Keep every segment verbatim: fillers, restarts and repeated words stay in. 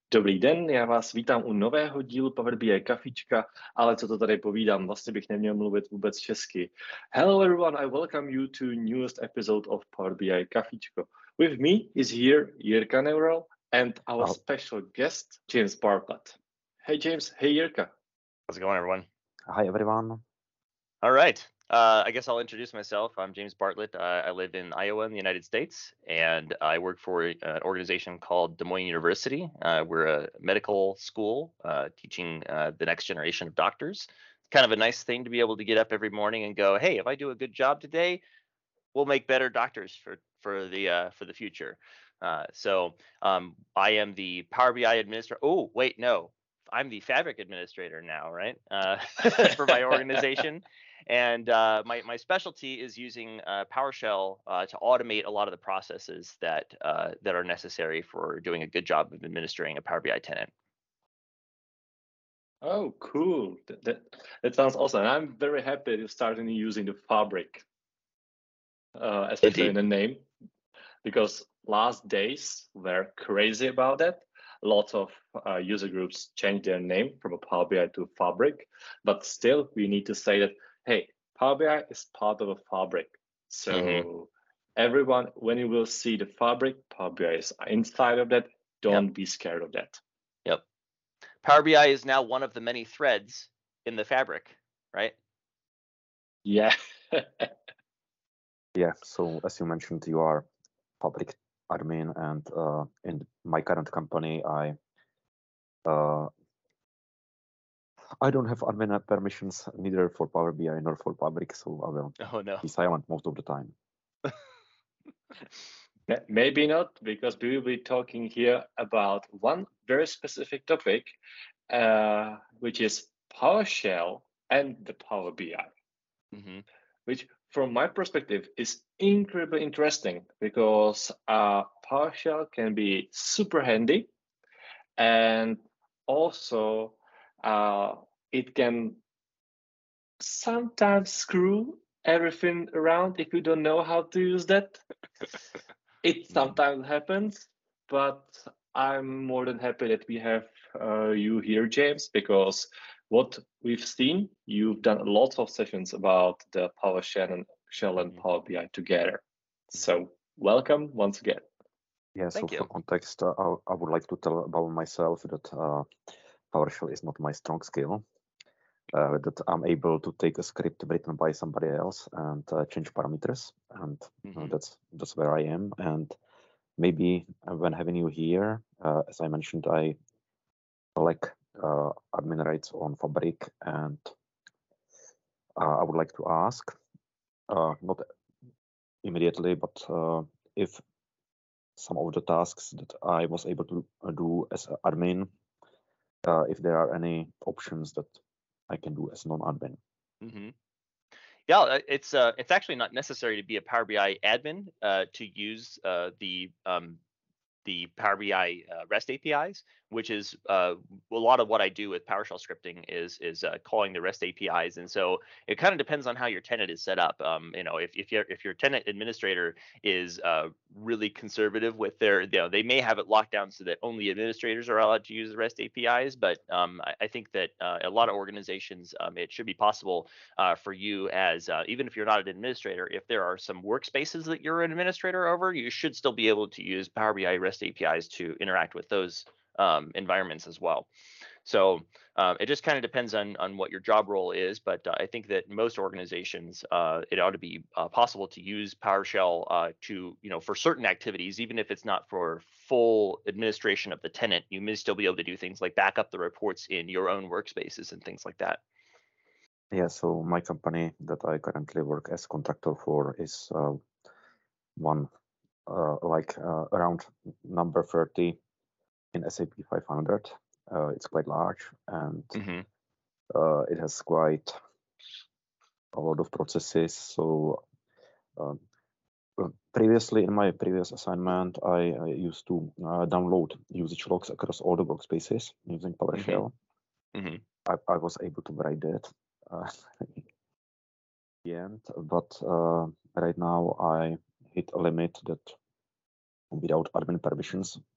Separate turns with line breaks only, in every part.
Dobrý den, já vás vítám u nového dílu Power B I Kafička, ale co to tady povídám, vlastně bych neměl mluvit vůbec česky. Hello everyone, I welcome you to newest episode of Power B I Kafičko. With me is here Jirka Neural and our
Oh.
special guest, James Bartlett. Hey James, hey Jirka.
How's it going, everyone?
Hi, everyone.
All right. Uh, I guess I'll introduce myself. I'm James Bartlett. Uh, I live in Iowa in the United States, and I work for an organization called Des Moines University. Uh, we're a medical school uh, teaching uh, the next generation of doctors. It's kind of a nice thing to be able to get up every morning and go, hey, if I do a good job today, we'll make better doctors for for the uh, for the future. Uh, so um, I am the Power B I administrator. Oh, wait, no. I'm the Fabric administrator now, right? Uh, for my organization. And uh, my, my specialty is using uh, PowerShell uh, to automate a lot of the processes that uh, that are necessary for doing a good job of administering a Power B I tenant.
Oh, cool. That, that, that sounds awesome. And I'm very happy to start using the Fabric, uh, especially
Indeed.
in the name, because last days were crazy about that. Lots of uh, user groups changed their name from a Power B I to Fabric, but still we need to say that, hey, Power B I is part of a Fabric. So
Mm-hmm.
everyone, when you will see the Fabric, Power B I is inside of that. Don't
Yep.
be scared of that.
Yep. Power B I is now one of the many threads in the Fabric, right?
Yeah.
Yeah, so as you mentioned, you are Fabric admin, and uh, in my current company, I uh, I don't have admin permissions neither for Power B I nor for Fabric, so I will
Oh, no.
be silent most of the time.
Maybe not, because we will be talking here about one very specific topic, uh, which is PowerShell and the Power B I,
Mm-hmm.
which from my perspective is incredibly interesting because uh, PowerShell can be super handy, and also uh, it can sometimes screw everything around if you don't know how to use that. It sometimes happens, but I'm more than happy that we have uh, you here, James, because what we've seen, you've done lots of sessions about the PowerShell and Shell and
Mhm.
Power B I together. So welcome once again.
Yeah, so
Thank you.
for context, uh, I, I would like to tell about myself that uh, PowerShell is not my strong skill. Uh, that I'm able to take a script written by somebody else and uh, change parameters, and uh,
Mhm.
that's that's where I am. And maybe uh, when having you here, uh, as I mentioned, I lack uh, admin rights on Fabric, and uh, I would like to ask, uh, not immediately, but uh, if some of the tasks that I was able to uh, do as an admin, uh, if there are any options that I can do as non-admin.
Mm-hmm. Yeah, uh, it's uh, it's actually not necessary to be a Power B I admin uh, to use uh, the um, the Power B I uh, REST A P Is, which is uh, a lot of what I do with PowerShell scripting is is uh, calling the REST A P Is, and so it kind of depends on how your tenant is set up. Um, you know, if if your if your tenant administrator is uh, really conservative with their, you know, they may have it locked down so that only administrators are allowed to use the REST A P Is, but um, I, I think that uh, a lot of organizations, um, it should be possible uh, for you as uh, even if you're not an administrator, if there are some workspaces that you're an administrator over, you should still be able to use Power B I REST A P Is to interact with those um, environments as well. So uh, it just kind of depends on on what your job role is, but uh, I think that most organizations, uh, it ought to be uh, possible to use PowerShell uh, to, you know, for certain activities, even if it's not for full administration of the tenant, you may still be able to do things like back up the reports in your own workspaces and things like that.
Yeah, so my company that I currently work as contractor for is uh, one uh, like uh, around number thirty in S A P five hundred. Uh, it's quite large, and
Mm-hmm.
uh, it has quite a lot of processes. So um, previously, in my previous assignment, I, I used to uh, download usage logs across all the workspaces using PowerShell.
Mm-hmm.
I, I was able to write that uh, in the end, but uh, right now I hit a limit that without admin permissions,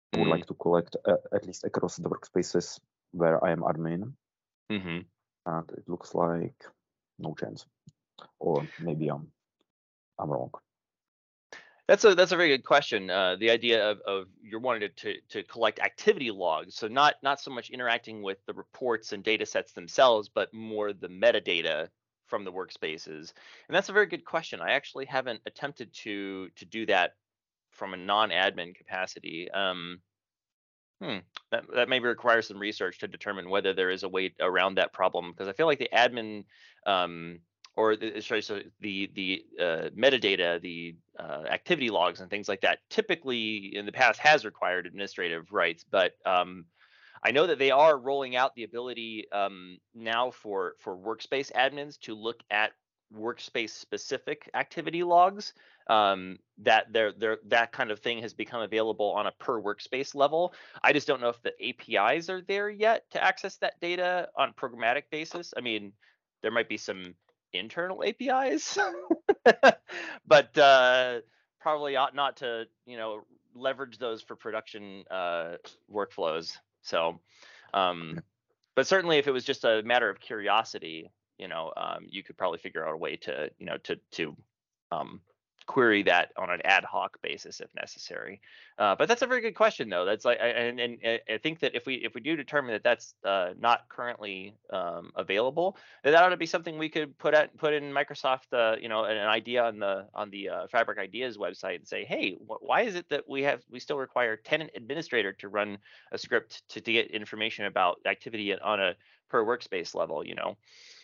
I would
Mm.
like to collect uh, at least across the workspaces where I am admin,
Mm-hmm.
and it looks like no chance. Or maybe I'm I'm wrong.
That's a that's a very good question. Uh, the idea of, of you're wanting to, to to collect activity logs, so not not so much interacting with the reports and data sets themselves, but more the metadata from the workspaces. And that's a very good question. I actually haven't attempted to to do that from a non-admin capacity. Um, hmm, that that maybe requires some research to determine whether there is a way around that problem, because I feel like the admin um, or the, sorry, so the the uh, metadata, the uh, activity logs and things like that, typically in the past has required administrative rights, but um, I know that they are rolling out the ability um, now for for workspace admins to look at workspace specific activity logs. Um, that there there that kind of thing has become available on a per workspace level. I just don't know if the A P Is are there yet to access that data on a programmatic basis. I mean, there might be some internal A P Is, but uh, probably ought not to, you know, leverage those for production uh, workflows. So, um, but certainly if it was just a matter of curiosity, you know, um, you could probably figure out a way to, you know, to to um, query that on an ad hoc basis if necessary. Uh, but that's a very good question, though. That's like, I- and, and and I think that if we if we do determine that that's uh, not currently um, available, then that ought to be something we could put at put in Microsoft, uh, you know, an, an idea on the on the uh, Fabric Ideas website and say, hey, wh- why is it that we have we still require tenant administrator to run a script to, to get information about activity on a per workspace level, you know?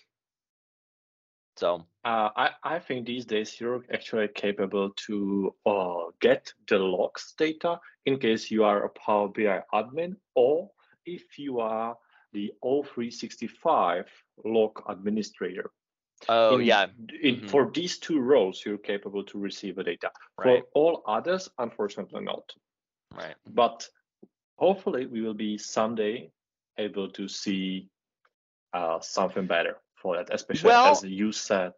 So
Uh, I, I think these days you're actually capable to uh, get the logs data in case you are a Power B I admin, or if you are the O three sixty-five log administrator.
oh
in,
yeah.
in
Mhm.
For these two roles, you're capable to receive the data.
Right.
For all others, unfortunately not.
Right.
But hopefully we will be someday able to see uh, something better for that, especially
Well,
as you said.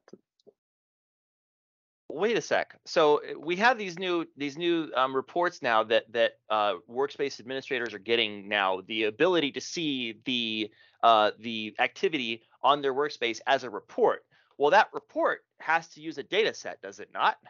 wait a sec. So uh, we have these new these new um, reports now that that uh, workspace administrators are getting now the ability to see the uh, the activity on their workspace as a report. Well, that report has to use a data set, does it not?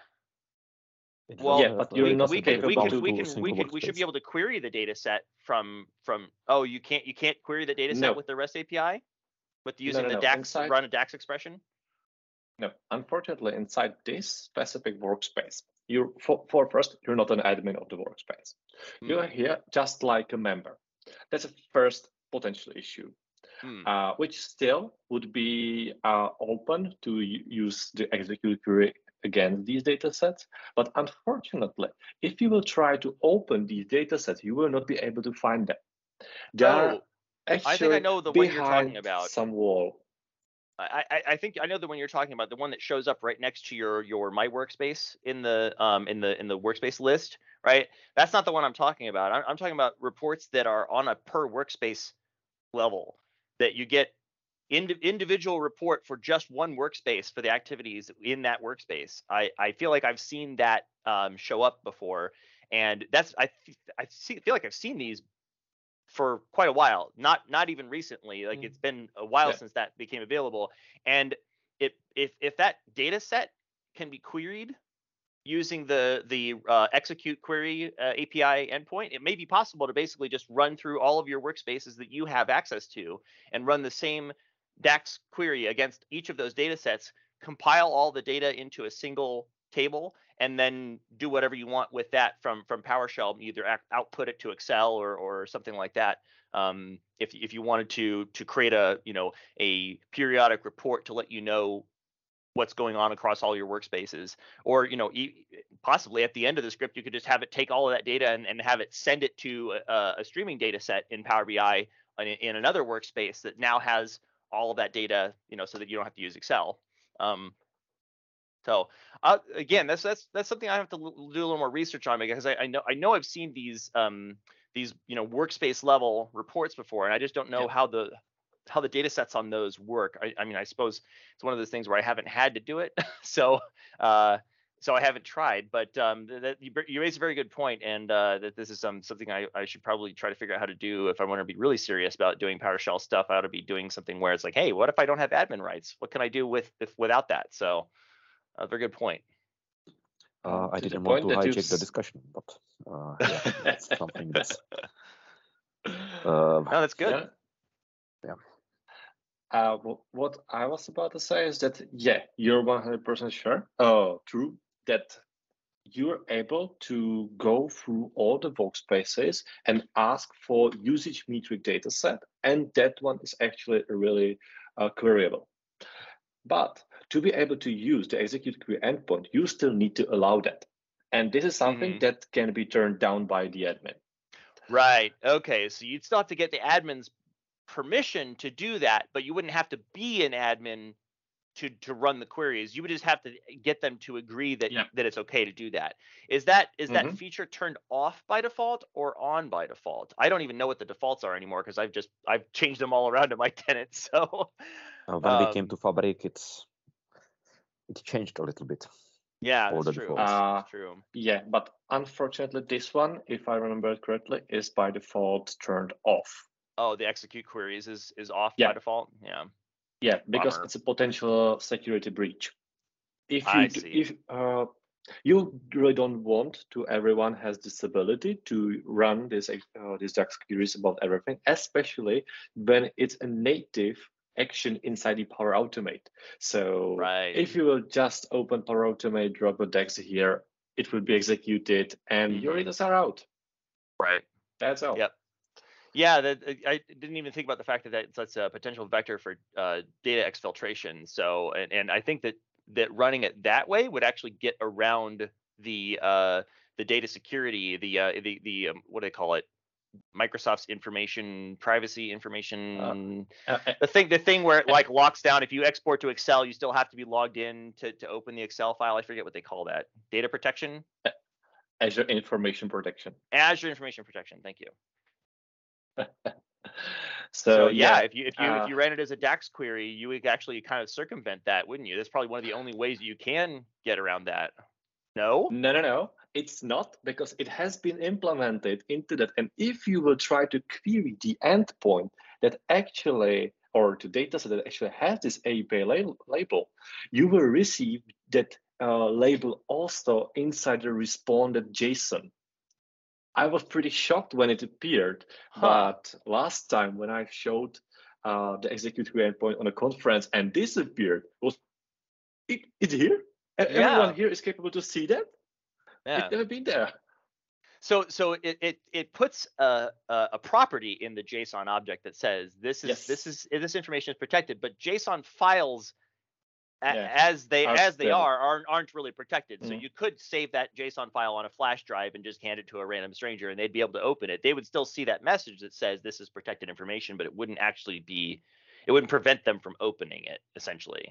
It
Well,
Yeah,
does have
but
a
you're
we
data
not
we
set, but
can
it's
we
capable
can
bound
to.
we
to a
can we
single
can we should be
workspace.
able to query the data set from from oh you can't you can't query the data set
No,
with the REST A P I with
no,
using
no,
the
no.
DAX
Inside,
run a DAX expression.
no. Unfortunately, inside this specific workspace, you for, for first, you're not an admin of the workspace. You are
Mm,
here just like a member. That's a first potential issue.
mm.
Uh, which still would be uh, open to u- use the execute query against these data sets. But unfortunately, if you will try to open these data sets, you will not be able to find them. They are
Oh, I think I
actually
know the one you're talking
behind
about.
some wall.
I, I I think I know the one you're talking about, the one that shows up right next to your your My Workspace in the um in the in the workspace list, right? That's not the one I'm talking about. I'm, I'm talking about reports that are on a per workspace level that you get ind- individual report for just one workspace for the activities in that workspace. I I feel like I've seen that um, show up before, and that's I I see, feel like I've seen these for quite a while, not not even recently. Like
Mm.
it's been a while
Yeah.
since that became available, and it if if that data set can be queried using the the uh, execute query uh, A P I endpoint, it may be possible to basically just run through all of your workspaces that you have access to and run the same DAX query against each of those data sets, compile all the data into a single table, and then do whatever you want with that from from PowerShell, either ac- output it to Excel or or something like that. Um, if if you wanted to to create a you know a periodic report to let you know what's going on across all your workspaces, or you know e- possibly at the end of the script you could just have it take all of that data and, and have it send it to a, a streaming data set in Power B I in, in another workspace that now has all of that data, you know, so that you don't have to use Excel. Um, so uh, again, that's that's that's something I have to l- do a little more research on, because I, I know I know I've seen these um, these you know workspace level reports before, and I just don't know
Yeah.
how the how the data sets on those work. I, I mean, I suppose it's one of those things where I haven't had to do it, so uh, so I haven't tried, but um, that you, you raise a very good point, and uh, that this is um, something I, I should probably try to figure out how to do if I want to be really serious about doing PowerShell stuff. I ought to be doing something where it's like, hey, what if I don't have admin rights? What can I do with if without that? So, a uh, very good point.
Uh, I
to
didn't
the
want
point
to
that
hijack
you've
the
s-
discussion, but uh, yeah, that's something that's. Uh,
No, that's good.
Yeah.
Yeah.
Uh, wh- what I was about to say is that, yeah, you're one hundred percent sure, oh, true, that you're able to go through all the workspaces and ask for usage metric data set, and that one is actually really uh, queryable. But to be able to use the execute query endpoint, you still need to allow that. And this is something
Mhm.
that can be turned down by the admin.
Right. Okay. So you'd still have to get the admin's permission to do that, but you wouldn't have to be an admin to to run the queries. You would just have to get them to agree that
Yeah.
that it's okay to do that. Is that is that
Mhm.
feature turned off by default or on by default? I don't even know what the defaults are anymore because I've just I've changed them all around to my tenants. So
uh, when we came
um,
to Fabric, it's it changed a little bit.
yeah,
all
that's
the
true.
defaults.
Uh,
That's true.
yeah, but unfortunately, this one, if I remember it correctly, is by default turned off.
Oh, the execute queries is is off
Yeah.
by default. Yeah.
Yeah, because
Bummer.
it's a potential security breach. If you
I
d-
see.
if uh, you really don't want to everyone has this ability to run this uh, these DAX queries about everything, especially when it's a native action inside the Power Automate. So
Right.
if you will just open Power Automate, drop a DAX here, it will be executed, and your
Mhm.
data are out.
Right.
That's all.
Yep. Yeah, that I didn't even think about the fact that that's, that's a potential vector for uh, data exfiltration. So, and, and I think that that running it that way would actually get around the uh, the data security, the uh, the the um, what do they call it? Microsoft's information privacy information.
Uh, uh,
the thing, the thing where it
uh,
like locks down. If you export to Excel, you still have to be logged in to to open the Excel file. I forget what they call that. Data protection.
Azure Information Protection.
Azure Information Protection. Thank you.
So,
So yeah,
yeah,
if you if you
uh,
if you ran it as a DAX query, you would actually kind of circumvent that, wouldn't you? That's probably one of the only ways you can get around that. No?
no, no, no, it's not, because it has been implemented into that. And if you will try to query the endpoint that actually, or the data set that actually has this A P I label, label you will receive that uh, label also inside the responded JSON. I was pretty shocked when it appeared,
Huh.
but last time when I showed uh, the execute query endpoint on a conference and this appeared, was it, it's here? E- Everyone
Yeah.
here is capable to see that?
Yeah.
It's never been there.
So so it it it puts a, a a property in the JSON object that says this is
Yes.
this is this information is protected, but JSON files a-
Yeah,
as they
are
as they
still-
are aren't aren't really protected. So
Mhm.
you could save that JSON file on a flash drive and just hand it to a random stranger, and they'd be able to open it. They would still see that message that says this is protected information, but it wouldn't actually be, it wouldn't prevent them from opening it. Essentially,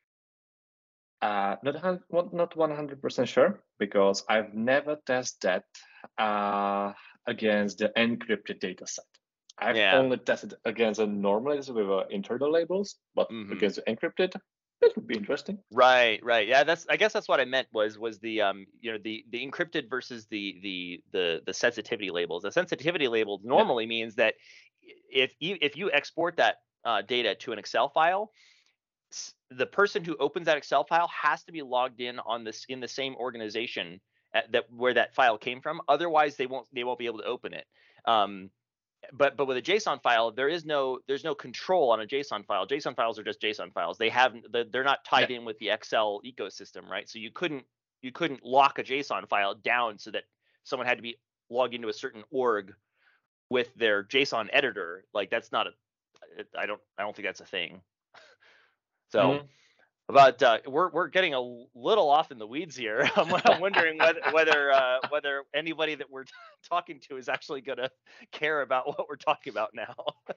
Uh, not hun- not not one hundred percent sure, because I've never tested that uh, against the encrypted data set. I've
Yeah.
only tested against a normal with uh, internal labels, but
Mhm.
against the encrypted, that would be interesting.
right, right. Yeah, that's I guess that's what I meant was was the um you know the the encrypted versus the the the the sensitivity labels. The sensitivity labels normally means that if you if you export that uh, data to an Excel file, s- the person who opens that Excel file has to be logged in on this in the same organization at, that where that file came from. Otherwise, they won't they won't be able to open it. Um, but but with a JSON file, there is no there's no control on a JSON file. JSON files are just JSON files. They have they're not tied
Yeah.
in with the Excel ecosystem, right? So you couldn't you couldn't lock a JSON file down so that someone had to be logged into a certain org with their JSON editor. Like that's not a I don't I don't think that's a thing. So.
Mhm.
But uh, we're we're getting a little off in the weeds here. I'm, I'm wondering whether whether uh, whether anybody that we're talking to is actually going to care about what we're talking about now.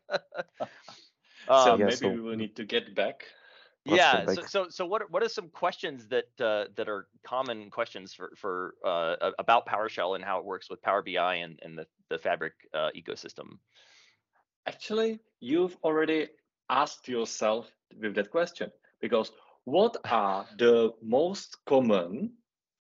So
um,
Yeah,
maybe
so-
we will need to get back.
Let's
yeah.
get
So
back.
so so what are- what are some questions that uh, that are common questions for for uh, a- about PowerShell and how it works with Power B I and and the the Fabric uh, ecosystem?
Actually, you've already asked yourself with that question, because what are the most common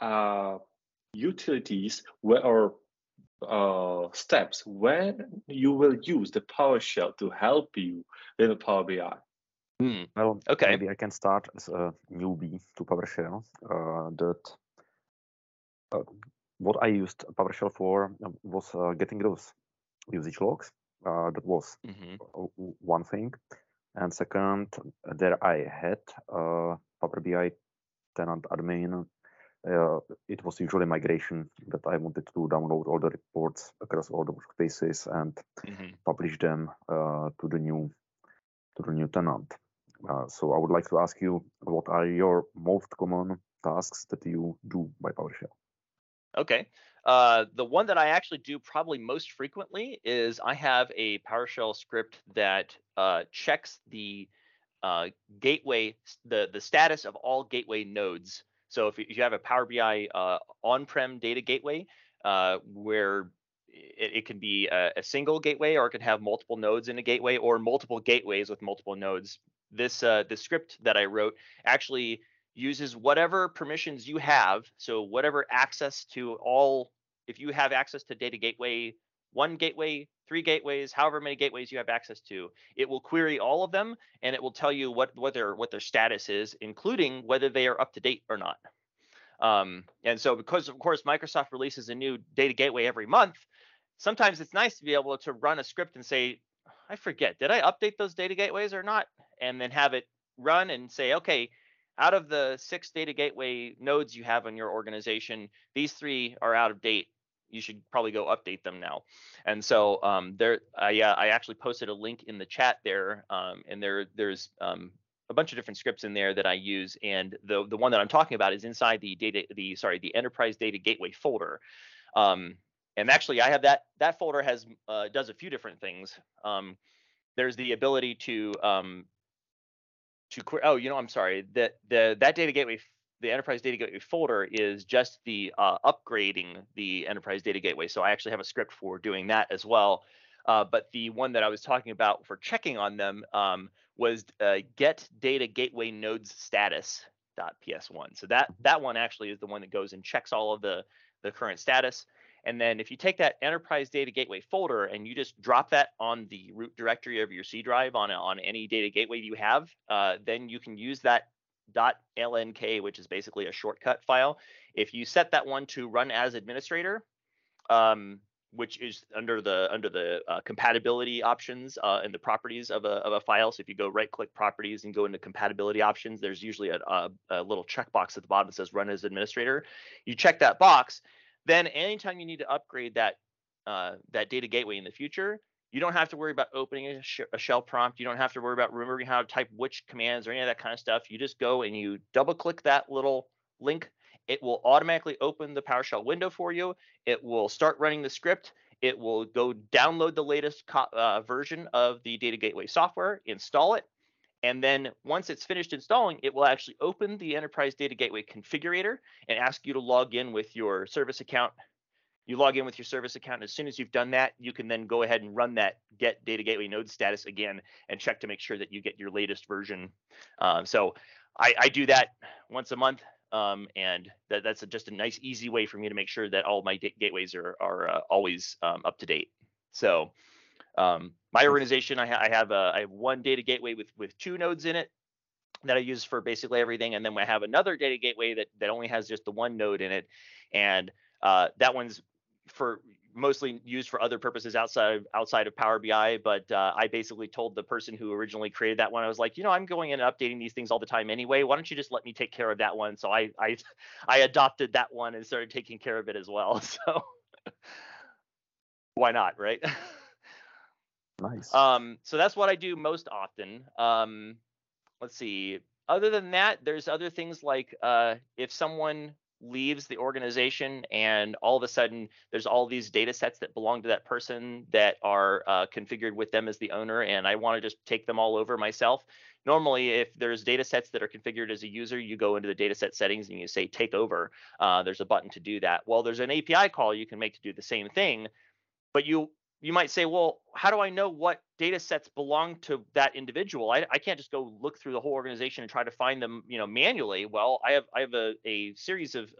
uh, utilities where, or uh, steps when you will use the PowerShell to help you in the Power B I?
Hmm.
Well,
Okay.
maybe I can start as a newbie to PowerShell. Uh, that uh, what I used PowerShell for was uh, getting those usage logs. Uh, that was
Mhm.
one thing. And second, there I had uh, Power B I tenant admin. Uh, it was usually migration that I wanted to download all the reports across all the workspaces and
Mhm.
publish them uh, to the new to the new tenant. Uh, so I would like to ask you, what are your most common tasks that you do by PowerShell?
Okay. Uh, the one that I actually do probably most frequently is I have a PowerShell script that uh, checks the uh, gateway, the the status of all gateway nodes. So if you have a Power B I uh, on-prem data gateway, uh, where it, it can be a, a single gateway, or it can have multiple nodes in a gateway, or multiple gateways with multiple nodes. This uh, the script that I wrote actually uses whatever permissions you have. So whatever access to all, if you have access to data gateway, one gateway, three gateways, however many gateways you have access to, it will query all of them, and it will tell you what what their what their status is, including whether they are up to date or not. Um, and so, because of course Microsoft releases a new data gateway every month, sometimes it's nice to be able to run a script and say, I forget, did I update those data gateways or not? And then have it run and say, okay, out of the six data gateway nodes you have in your organization, these three are out of date. You should probably go update them now. And so um, there, I, uh, I actually posted a link in the chat there, um, and there there's um, a bunch of different scripts in there that I use, and the the one that I'm talking about is inside the data the sorry the enterprise data gateway folder. Um, and actually, I have that that folder has uh, does a few different things. Um, there's the ability to um, to oh, you know, I'm sorry, that the that data gateway, the enterprise data gateway folder is just the uh, upgrading the enterprise data gateway. So I actually have a script for doing that as well. Uh, but the one that I was talking about for checking on them um, was uh, get data gateway nodes status dot P S one. So that that one actually is the one that goes and checks all of the the current status. And then if you take that enterprise data gateway folder and you just drop that on the root directory of your C drive on a, on any data gateway you have, uh, then you can use that .lnk, which is basically a shortcut file. If you set that one to run as administrator, um, which is under the under the uh, compatibility options uh, and the properties of a of a file. So if you go right click properties and go into compatibility options, there's usually a, a, a little checkbox at the bottom that says run as administrator. You check that box. Then anytime you need to upgrade that uh, that data gateway in the future, you don't have to worry about opening a, sh a shell prompt. You don't have to worry about remembering how to type which commands or any of that kind of stuff. You just go and you double click that little link. It will automatically open the PowerShell window for you. It will start running the script. It will go download the latest uh, version of the data gateway software, install it, and then once it's finished installing, it will actually open the enterprise data gateway configurator and ask you to log in with your service account. You log in with your service account, and as soon as you've done that, you can then go ahead and run that get data gateway node status again and check to make sure that you get your latest version. Um, so I, I do that once a month, um, and that, that's a, just a nice, easy way for me to make sure that all my gateways are, are uh, always um, up to date. So um, my organization, I, ha I have a, I have one data gateway with with two nodes in it that I use for basically everything, and then I have another data gateway that that only has just the one node in it, and uh, that one's for mostly used for other purposes outside of, outside of Power B I. But uh, I basically told the person who originally created that one, I was like, you know, I'm going in and updating these things all the time anyway. Why don't you just let me take care of that one? So I I I adopted that one and started taking care of it as well. So why not, right?
Nice.
Um, so that's what I do most often. Um, let's see. Other than that, there's other things like uh, if someone leaves the organization and all of a sudden there's all these data sets that belong to that person that are uh, configured with them as the owner, and I want to just take them all over myself. Normally, if there's data sets that are configured as a user, you go into the data set settings and you say take over. Uh, there's a button to do that. Well, there's an A P I call you can make to do the same thing, but you you might say, well, how do I know what data sets belong to that individual? I, I can't just go look through the whole organization and try to find them, you know, manually. Well, I have I have a, a series of, of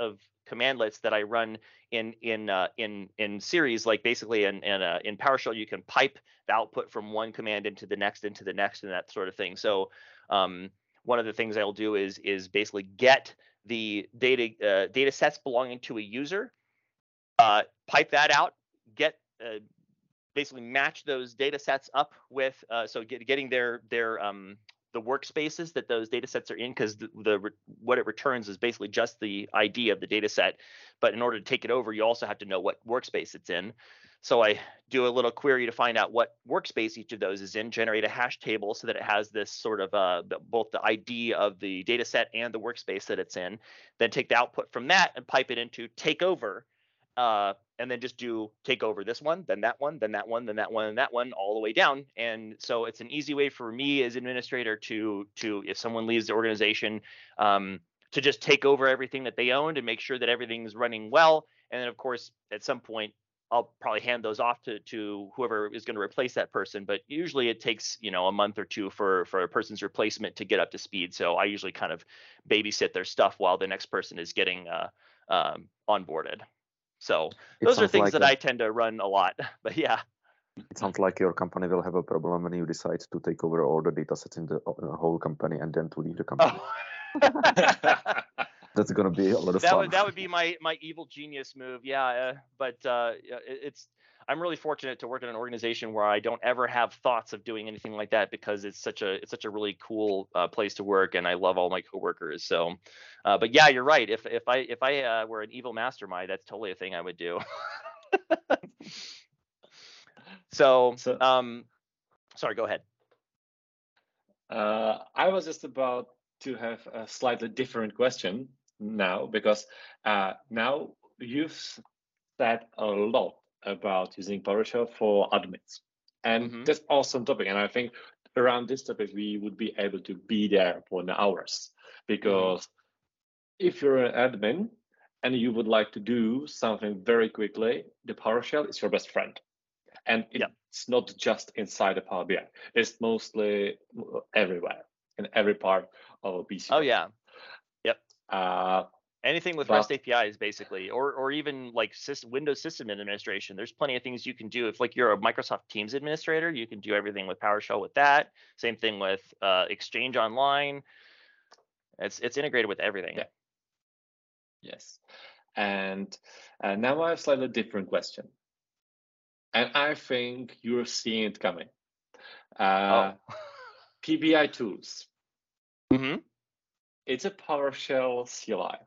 commandlets that I run in in uh, in in series. Like basically in in, uh, in PowerShell, you can pipe the output from one command into the next, into the next, and that sort of thing. So um, one of the things I'll do is is basically get the data uh, data sets belonging to a user, uh, pipe that out, get uh, basically match those data sets up with uh, so get, getting their their um, the workspaces that those data sets are in, because the, the what it returns is basically just the I D of the data set. But in order to take it over, you also have to know what workspace it's in. So I do a little query to find out what workspace each of those is in, generate a hash table so that it has this sort of uh, both the I D of the data set and the workspace that it's in. Then take the output from that and pipe it into takeover. Uh, and then just do take over this one, then that one, then that one, then that one, and that one, all the way down. And so it's an easy way for me as administrator to, to if someone leaves the organization, um, to just take over everything that they owned and make sure that everything's running well. And then, of course, at some point, I'll probably hand those off to, to whoever is going to replace that person. But usually it takes, you know, a month or two for, for a person's replacement to get up to speed. So I usually kind of babysit their stuff while the next person is getting uh, um, onboarded. So
It
those are
sounds
things
like
that
a-
I tend to run a lot. But yeah.
It sounds like your company will have a problem when you decide to take over all the data sets in the uh, whole company and then to leave the company.
Oh.
That's gonna be a lot of
that
fun.
would that would be my my evil genius move. Yeah, uh, but uh, it, it's I'm really fortunate to work in an organization where I don't ever have thoughts of doing anything like that, because it's such a it's such a really cool uh, place to work, and I love all my coworkers. So, uh, but yeah, you're right. If if I if I uh, were an evil mastermind, that's totally a thing I would do. so,
So-
um, sorry, go ahead.
Uh, I was just about to have a slightly different question now, because uh, now you've said a lot about using PowerShell for admins, and
Mhm.
that's awesome topic. And I think around this topic we would be able to be there for the hours, because if you're an admin and you would like to do something very quickly, the PowerShell is your best friend. And it's
Yep.
not just inside the Power B I. It's mostly everywhere, in every part of a P C.
Oh yeah. Yep.
Uh,
Anything with
but-
REST A P Is, basically, or or even like system, Windows system administration. There's plenty of things you can do. If like you're a Microsoft Teams administrator, you can do everything with PowerShell with that. Same thing with uh, Exchange Online. It's it's integrated with everything.
Yeah. Yes. And uh, now I have a slightly different question. And I think you're seeing it coming. Uh,
Oh.
P B I tools.
Mm-hmm.
It's a PowerShell C L I.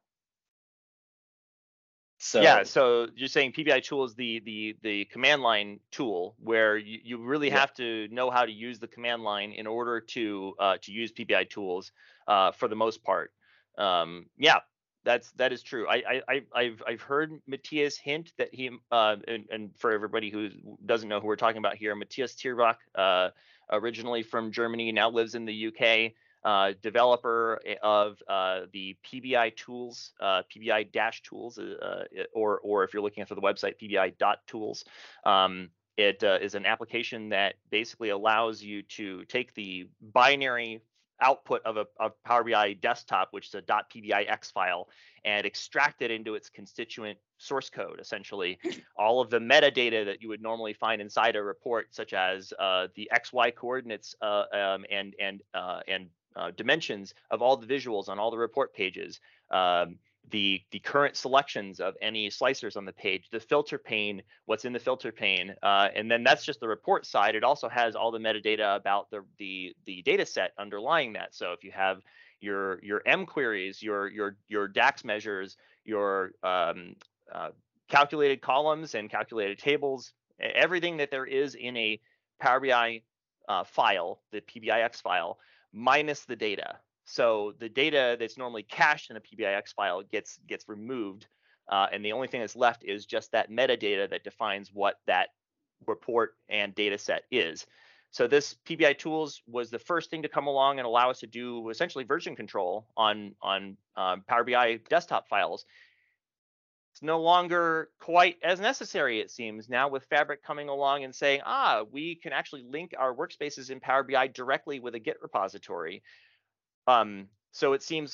So
Yeah, so you're saying P B I tool is the the the command line tool where you, you really
Yeah.
have to know how to use the command line in order to uh, to use P B I tools uh, for the most part. Um, yeah, that's that is true. I, I I I've I've heard Matthias hint that he uh, and, and for everybody who doesn't know who we're talking about here, Matthias Tierbach, uh, originally from Germany, now lives in the U K. Uh, developer of uh, the P B I tools, uh, P B I dash tools, uh, or or if you're looking for the website, P B I dot tools. Um, it uh, is an application that basically allows you to take the binary output of a of Power B I desktop, which is a .pbix file, and extract it into its constituent source code, essentially. All of the metadata that you would normally find inside a report, such as uh, the X Y coordinates uh, um, and and uh, and Uh, dimensions of all the visuals on all the report pages, um, the the current selections of any slicers on the page, the filter pane, what's in the filter pane, uh, and then that's just the report side. It also has all the metadata about the the the data set underlying that. So if you have your your M queries, your your your DAX measures, your um, uh, calculated columns and calculated tables, everything that there is in a Power B I uh, file, the P B I X file, minus the data. So the data that's normally cached in a P B I X file gets gets removed, uh, and the only thing that's left is just that metadata that defines what that report and data set is. So this P B I tools was the first thing to come along and allow us to do essentially version control on on um, Power B I desktop files. It's no longer quite as necessary, it seems, now with Fabric coming along and saying, ah, we can actually link our workspaces in Power B I directly with a Git repository. Um, so it seems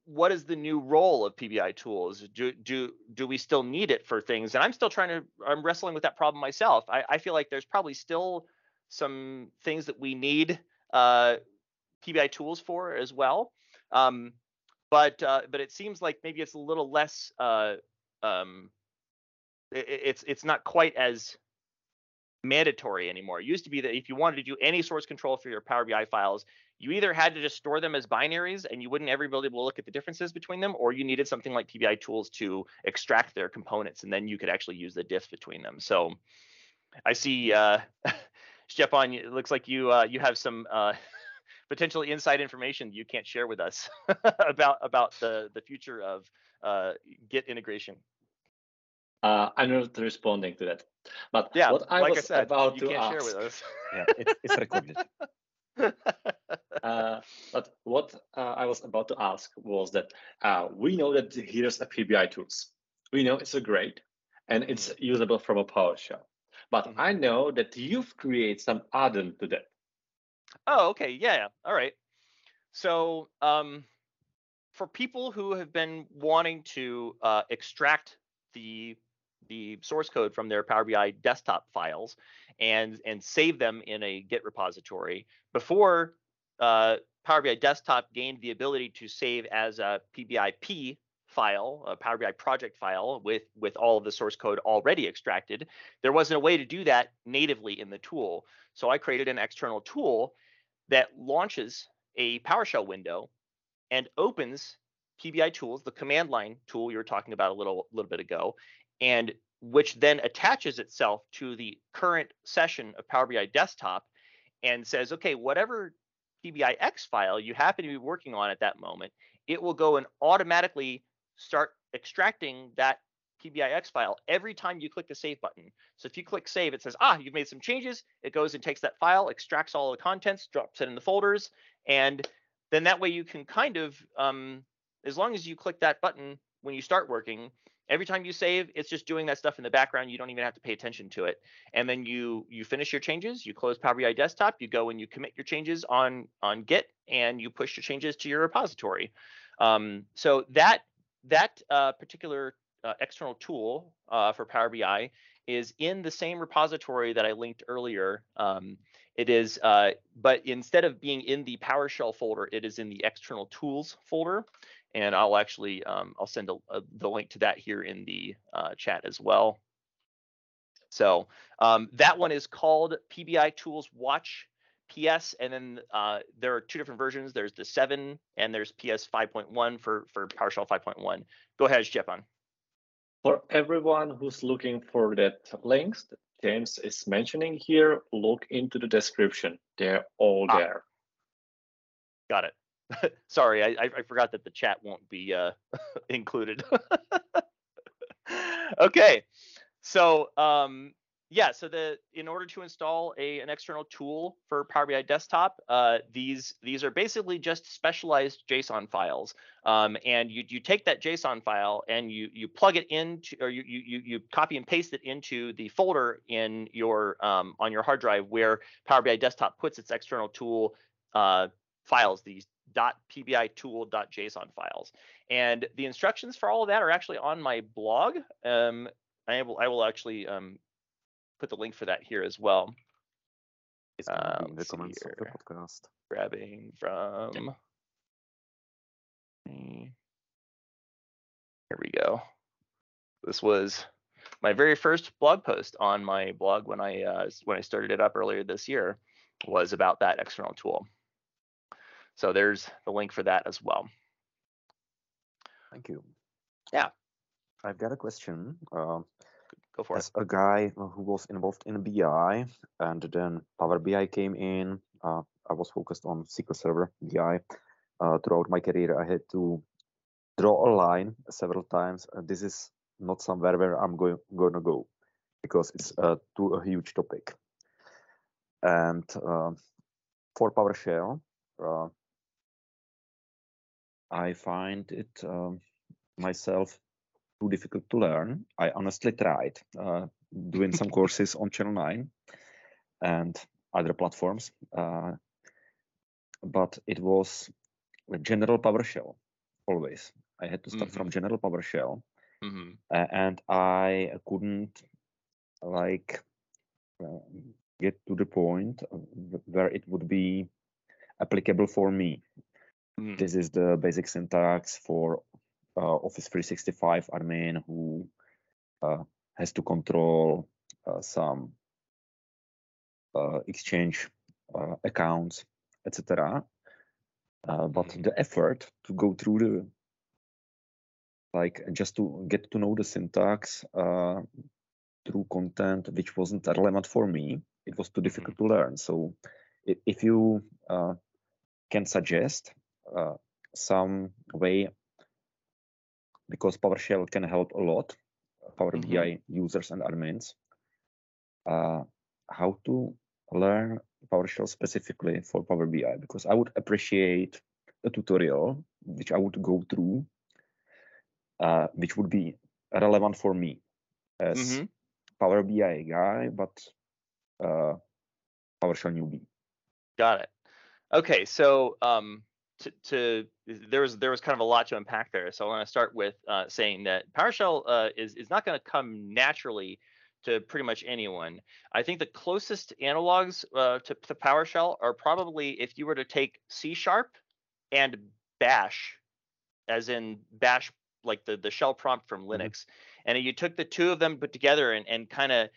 what is the new role of P B I tools? Do do do we still need it for things? And I'm still trying to. I'm wrestling with that problem myself. I, I feel like there's probably still some things that we need uh, P B I tools for as well. Um, but uh, but it seems like maybe it's a little less. Uh, um, it, it's it's not quite as mandatory anymore. It used to be that if you wanted to do any source control for your Power B I files, you either had to just store them as binaries and you wouldn't ever be able to look at the differences between them, or you needed something like P B I tools to extract their components, and then you could actually use the diffs between them. So I see, uh, Stepan, it looks like you uh, you have some uh, potentially inside information you can't share with us about about the the future of uh, Git integration.
Uh, I'm not responding to that. But
yeah,
what I
like
was
I said,
about
you
to
can't
ask,
share with us.
Yeah, it, it's recorded.
uh, but what uh, I was about to ask was that uh, we know that here's a P B I tools. We know it's a great and it's mm-hmm. usable from a PowerShell. But mm-hmm. I know that you've created some add-on to that.
Oh, okay. Yeah, yeah. All right. So um, for people who have been wanting to uh, extract the the source code from their Power B I desktop files and and save them in a Git repository, before uh, Power B I Desktop gained the ability to save as a P B I P file, a Power B I project file with with all of the source code already extracted, there wasn't a way to do that natively in the tool. So I created an external tool that launches a PowerShell window and opens P B I tools, the command line tool you were talking about a little little bit ago, and which then attaches itself to the current session of Power B I Desktop and says, okay, whatever P B I X file you happen to be working on at that moment, it will go and automatically start extracting that P B I X file every time you click the save button. So if you click save, it says, ah, you've made some changes. It goes and takes that file, extracts all the contents, drops it in the folders, and then that way you can kind of, um, as long as you click that button when you start working, every time you save, it's just doing that stuff in the background. You don't even have to pay attention to it. And then you you finish your changes, you close Power B I Desktop, you go and you commit your changes on, on Git, and you push your changes to your repository. Um, so that, that uh, particular uh, external tool uh, for Power B I is in the same repository that I linked earlier. Um, It is, uh, but instead of being in the PowerShell folder, it is in the external tools folder. And I'll actually, um, I'll send a, a, the link to that here in the uh, chat as well. So um, that one is called P B I Tools Watch P S. And then uh, there are two different versions. There's the seven and there's P S five point one for, for PowerShell five point one. Go ahead, Stepan.
For everyone who's looking for that links that James is mentioning here, look into the description. They're all
ah,
there.
Got it. Sorry, I, I forgot that the chat won't be uh, included. Okay, so um, yeah, so the in order to install a an external tool for Power B I Desktop, uh, these these are basically just specialized JSON files, um, and you you take that JSON file and you you plug it into, or you you you copy and paste it into the folder in your um, on your hard drive where Power B I Desktop puts its external tool uh, files, these .pbitool.json files, and the instructions for all of that are actually on my blog. Um, I will I will actually um, put the link for that here as well.
It's going to be in the comments of the podcast.
Grabbing from. Here we go. This was my very first blog post on my blog when I uh, when I started it up earlier this year, was about that external tool. So there's the link for that as well.
Thank you.
Yeah.
I've got a question. Uh,
Go for
as
it.
a guy who was involved in B I, and then Power B I came in, uh, I was focused on S Q L Server B I. Uh, throughout my career, I had to draw a line several times. Uh, this is not somewhere where I'm going gonna go, because it's uh, too a huge topic. And uh, for PowerShell, uh, I find it um, myself too difficult to learn. I honestly tried uh, doing some courses on Channel nine and other platforms, uh, but it was a general PowerShell. always. I had to start
Mhm.
from general PowerShell,
Mm-hmm.
uh, and I couldn't like uh, get to the point where it would be applicable for me.
Mm-hmm.
This is the basic syntax for uh, Office three sixty-five admin who uh, has to control uh, some uh, Exchange uh, accounts, et cetera. Uh, but
Mm-hmm.
the effort to go through the like just to get to know the syntax uh, through content which wasn't relevant for me, it was too difficult
Mm-hmm.
to learn. So if you uh, can suggest uh, some way, because PowerShell can help a lot, Power
Mm-hmm.
B I users and admins, uh, how to learn PowerShell specifically for Power B I, because I would appreciate a tutorial which I would go through, uh, which would be relevant for me as
Mm-hmm.
Power B I guy, but uh, PowerShell newbie.
Got it. Okay, so um, to, to there was there was kind of a lot to unpack there. So I want to start with uh, saying that PowerShell uh, is is not going to come naturally to pretty much anyone. I think the closest analogs uh, to, to PowerShell are probably if you were to take C Sharp and Bash, as in Bash, like the the shell prompt from Linux, mm-hmm. and you took the two of them put together and and kind of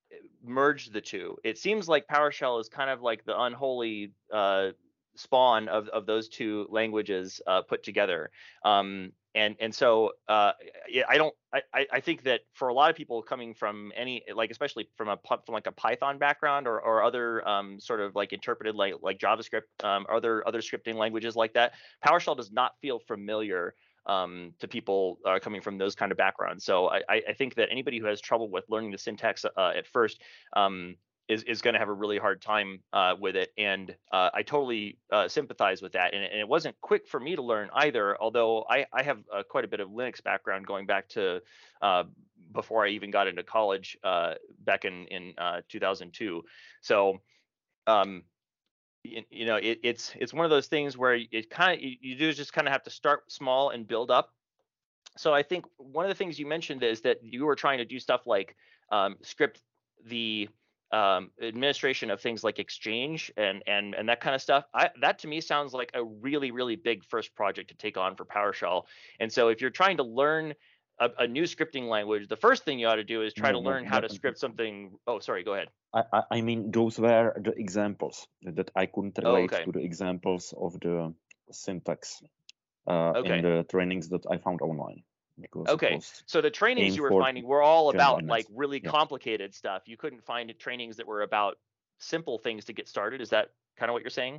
merge the two. It seems like PowerShell is kind of like the unholy uh, spawn of, of those two languages uh, put together. Um, and and so uh, I don't I, I think that for a lot of people coming from any, like especially from a from like a Python background or, or other um, sort of like interpreted like like JavaScript, um, or other other scripting languages like that, PowerShell does not feel familiar um, to people uh, coming from those kind of backgrounds. So I, I think that anybody who has trouble with learning the syntax uh, at first um, is, is going to have a really hard time uh, with it. And uh, I totally uh, sympathize with that. And, and it wasn't quick for me to learn either, although I, I have uh, quite a bit of Linux background going back to uh, before I even got into college uh, back in, in uh, two thousand two. So um, you know, it, it's it's one of those things where it kind of you, you do just kind of have to start small and build up. So I think one of the things you mentioned is that you were trying to do stuff like um, script the um, administration of things like Exchange and and and that kind of stuff. I, that to me sounds like a really really big first project to take on for PowerShell. And so if you're trying to learn a, a new scripting language, the first thing you ought to do is try
no,
to learn
no,
how
that,
to script something. Oh, sorry, go ahead.
I, I mean, those were the examples that I couldn't relate
Oh, okay.
to the examples of the syntax uh,
Okay.
in the trainings that I found online. Because
okay. So the trainings you were finding were all about like really yeah. complicated stuff. You couldn't find trainings that were about simple things to get started. Is that kind of what you're saying?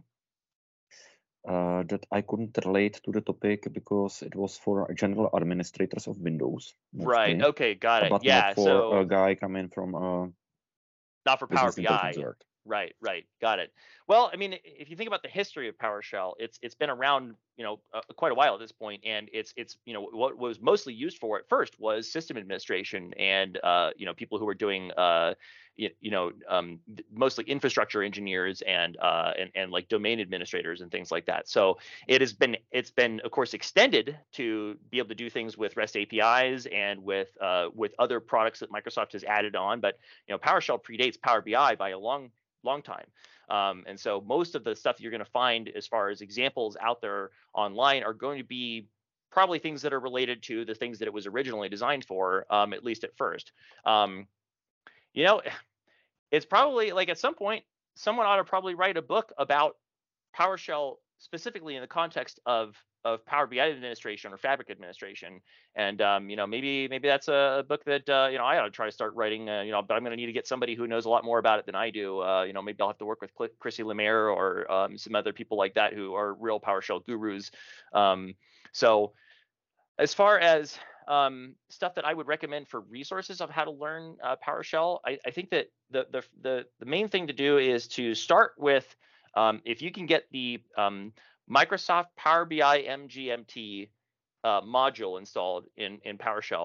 Uh, that I couldn't relate to the topic because it was for general administrators of Windows. Mostly,
right. Okay. Got it.
But
yeah.
not for
so
a guy coming from a
not for Power B I.
World.
Right, right, got it. Well, I mean, if you think about the history of PowerShell, it's it's been around, you know, uh, quite a while at this point, and it's it's you know what was mostly used for at first was system administration and uh, you know people who were doing uh, you, you know um, mostly infrastructure engineers and uh, and and like domain administrators and things like that. So it has been it's been of course extended to be able to do things with REST A P Is and with uh, with other products that Microsoft has added on. But you know PowerShell predates Power B I by a long long time. Um, and so most of the stuff you're going to find as far as examples out there online are going to be probably things that are related to the things that it was originally designed for, um, at least at first. Um, you know, it's probably like at some point, someone ought to probably write a book about PowerShell specifically in the context of of Power B I administration or Fabric administration, and um, you know maybe maybe that's a book that uh, you know I ought to try to start writing. Uh, you know, but I'm going to need to get somebody who knows a lot more about it than I do. Uh, you know, maybe I'll have to work with Chrissy Lemire or um, some other people like that who are real PowerShell gurus. Um, so as far as um, stuff that I would recommend for resources of how to learn uh, PowerShell, I, I think that the, the the the main thing to do is to start with um, if you can get the um, Microsoft Power B I M G M T uh, module installed in in PowerShell.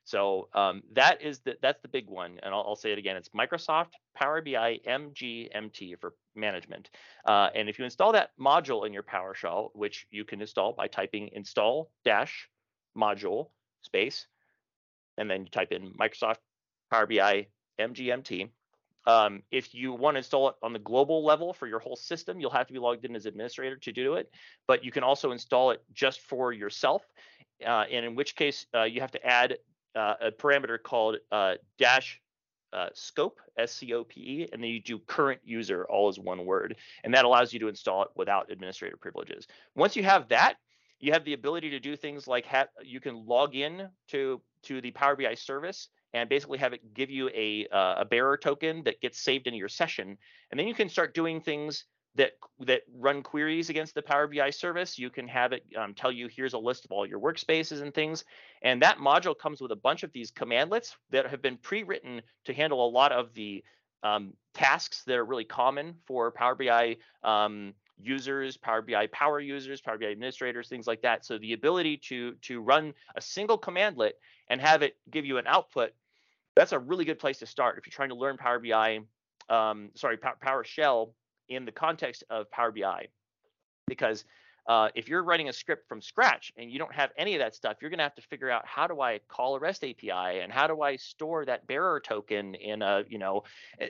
So um, that is the that's the big one, and I'll, I'll say it again. It's Microsoft Power B I M G M T for management. Uh, and if you install that module in your PowerShell, which you can install by typing install dash module space, and then you type in Microsoft Power B I M G M T. Um, if you want to install it on the global level for your whole system, you'll have to be logged in as administrator to do it. But you can also install it just for yourself. Uh, and in which case, uh, you have to add uh, a parameter called uh, dash uh, scope, S C O P E, and then you do current user, all as one word. And that allows you to install it without administrator privileges. Once you have that, you have the ability to do things like have, you can log in to, to the Power B I service and basically have it give you a, uh, a bearer token that gets saved into your session. And then you can start doing things that that run queries against the Power B I service. You can have it um, tell you, here's a list of all your workspaces and things. And that module comes with a bunch of these commandlets that have been pre-written to handle a lot of the um, tasks that are really common for Power B I um, users, Power B I power users, Power B I administrators, things like that. So the ability to, to run a single commandlet and have it give you an output, that's a really good place to start if you're trying to learn Power B I, um, sorry, PowerShell in the context of Power B I. Because uh, if you're writing a script from scratch and you don't have any of that stuff, you're going to have to figure out, how do I call a REST A P I, and how do I store that bearer token in a, you know,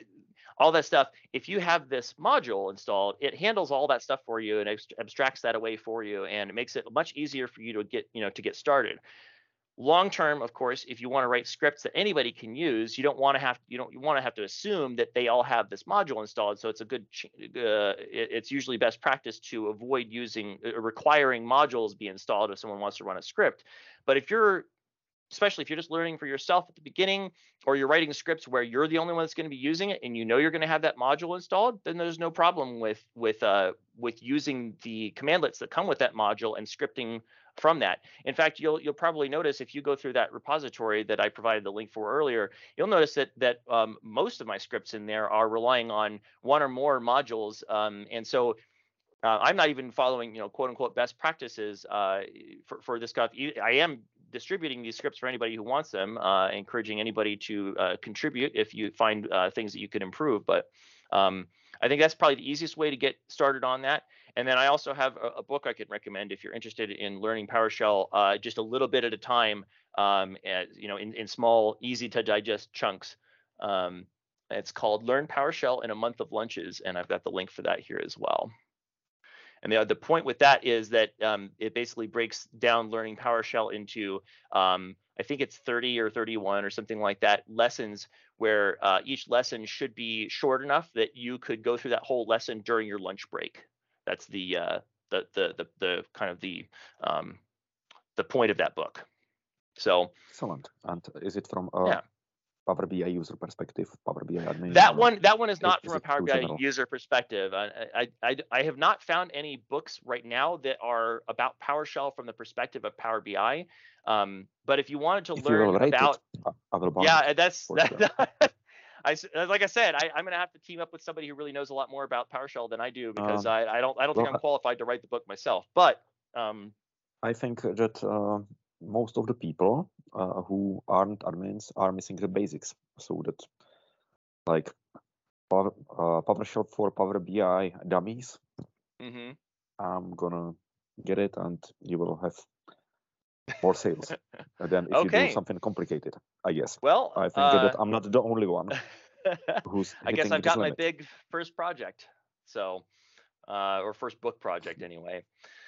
all that stuff. If you have this module installed, it handles all that stuff for you and abstracts that away for you, and it makes it much easier for you to get, you know, to get started. Long term, of course, if you want to write scripts that anybody can use, you don't want to have you don't you want to have to assume that they all have this module installed. So it's a good uh, it, it's usually best practice to avoid using uh, requiring modules be installed if someone wants to run a script. But if you're especially if you're just learning for yourself at the beginning, or you're writing scripts where you're the only one that's going to be using it, and you know you're going to have that module installed, then there's no problem with with uh, with using the commandlets that come with that module and scripting from that. In fact, you'll you'll probably notice, if you go through that repository that I provided the link for earlier, you'll notice that that um, most of my scripts in there are relying on one or more modules, um, and so uh, I'm not even following, you know, quote unquote best practices uh, for for this stuff. I am distributing these scripts for anybody who wants them, uh, encouraging anybody to uh, contribute if you find uh, things that you could improve. But um, I think that's probably the easiest way to get started on that. And then I also have a, a book I could recommend if you're interested in learning PowerShell uh, just a little bit at a time, um, as, you know, in, in small, easy to digest chunks. Um, it's called Learn PowerShell in a Month of Lunches, and I've got the link for that here as well. And the, the point with that is that um, it basically breaks down learning PowerShell into, um, I think it's thirty or thirty-one or something like that, lessons where uh, each lesson should be short enough that you could go through that whole lesson during your lunch break. That's the uh, the, the the the kind of the um, the point of that book. So
excellent. And is it from uh,
yeah.
Power B I user perspective, Power B I admin?
That one, that one is not
is
from a Power B I
general?
user perspective. I, I, I, I have not found any books right now that are about PowerShell from the perspective of Power B I. Um, but if you wanted to
If
learn
you will
about,
it, I will buy
yeah,
it,
that's
for
that,
sure.
I, like I said, I, I'm going to have to team up with somebody who really knows a lot more about PowerShell than I do, because
Um,
I, I don't, I don't
well,
think I'm qualified to write the book myself. But um,
I think that uh, most of the people uh, who aren't admins are missing the basics. So that, like, Power, uh, PowerShell for Power B I dummies,
mm-hmm.
I'm gonna get it, and you will have more sales than if
Okay.
you do something complicated, I guess.
Well,
I think
uh,
that I'm not the only one who's
I guess
hitting
I've
this
got my
limit.
big first project, so uh, or first book project anyway.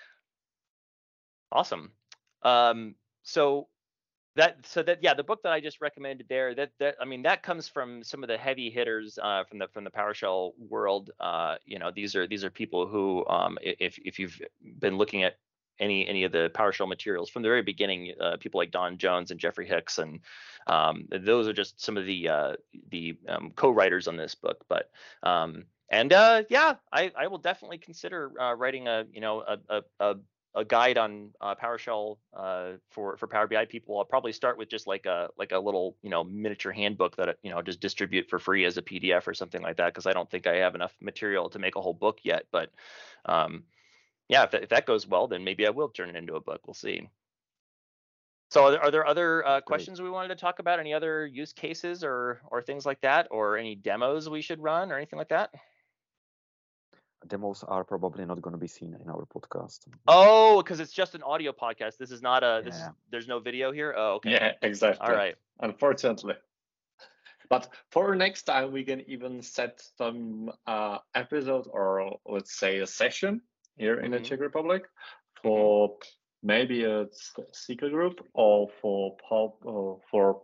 Awesome. Um, so that so that yeah, the book that I just recommended there, that that I mean that comes from some of the heavy hitters uh, from the from the PowerShell world. Uh, you know, these are these are people who, um, if if you've been looking at any any of the PowerShell materials from the very beginning, uh, people like Don Jones and Jeffrey Hicks, and um, those are just some of the uh, the um, co-writers on this book. But um, and uh, yeah, I, I will definitely consider uh, writing a you know a a, a a guide on uh, PowerShell uh, for for Power B I people. I'll probably start with just like a like a little you know miniature handbook that you know just distribute for free as a P D F or something like that, because I don't think I have enough material to make a whole book yet. But um, yeah, if that, if that goes well, then maybe I will turn it into a book. We'll see. So are there, are there other uh,
Great.
questions we wanted to talk about? Any other use cases or or things like that, or any demos we should run or anything like that?
Demos are probably not going to be seen in our podcast.
Oh, because it's just an audio podcast. This is not a. This is,
Yeah.
there's no video here. Oh, okay.
Yeah, exactly.
All right.
Unfortunately. But for next time, we can even set some uh, episode or let's say a session here in the
Mhm.
Czech Republic for maybe a s- secret group or for pub or for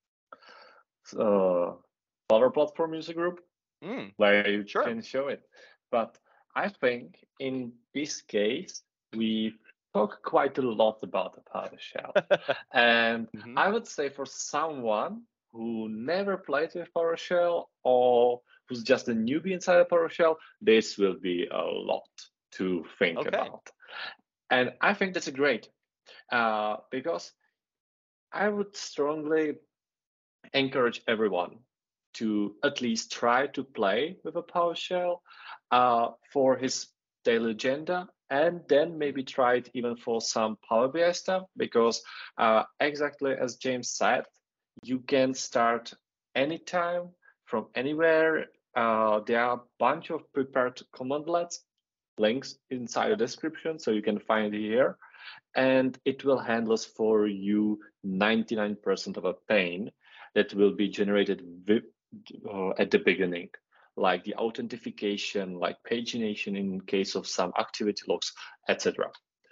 uh, Power Platform user group
Mm,
where you
Sure.
can show it. But I think in this case, we talk quite a lot about the PowerShell. And
Mhm.
I would say for someone who never played with PowerShell or who's just a newbie inside of PowerShell, this will be a lot to think
Okay.
about. And I think that's great uh, because I would strongly encourage everyone to at least try to play with a PowerShell uh, for his daily agenda, and then maybe try it even for some Power B I stuff, because uh, exactly as James said, you can start anytime from anywhere. Uh, there are a bunch of prepared commandlets, links inside the description, so you can find it here, and it will handle for you ninety-nine percent of a pane that will be generated uh, at the beginning, like the authentication, like pagination in case of some activity logs, et cetera.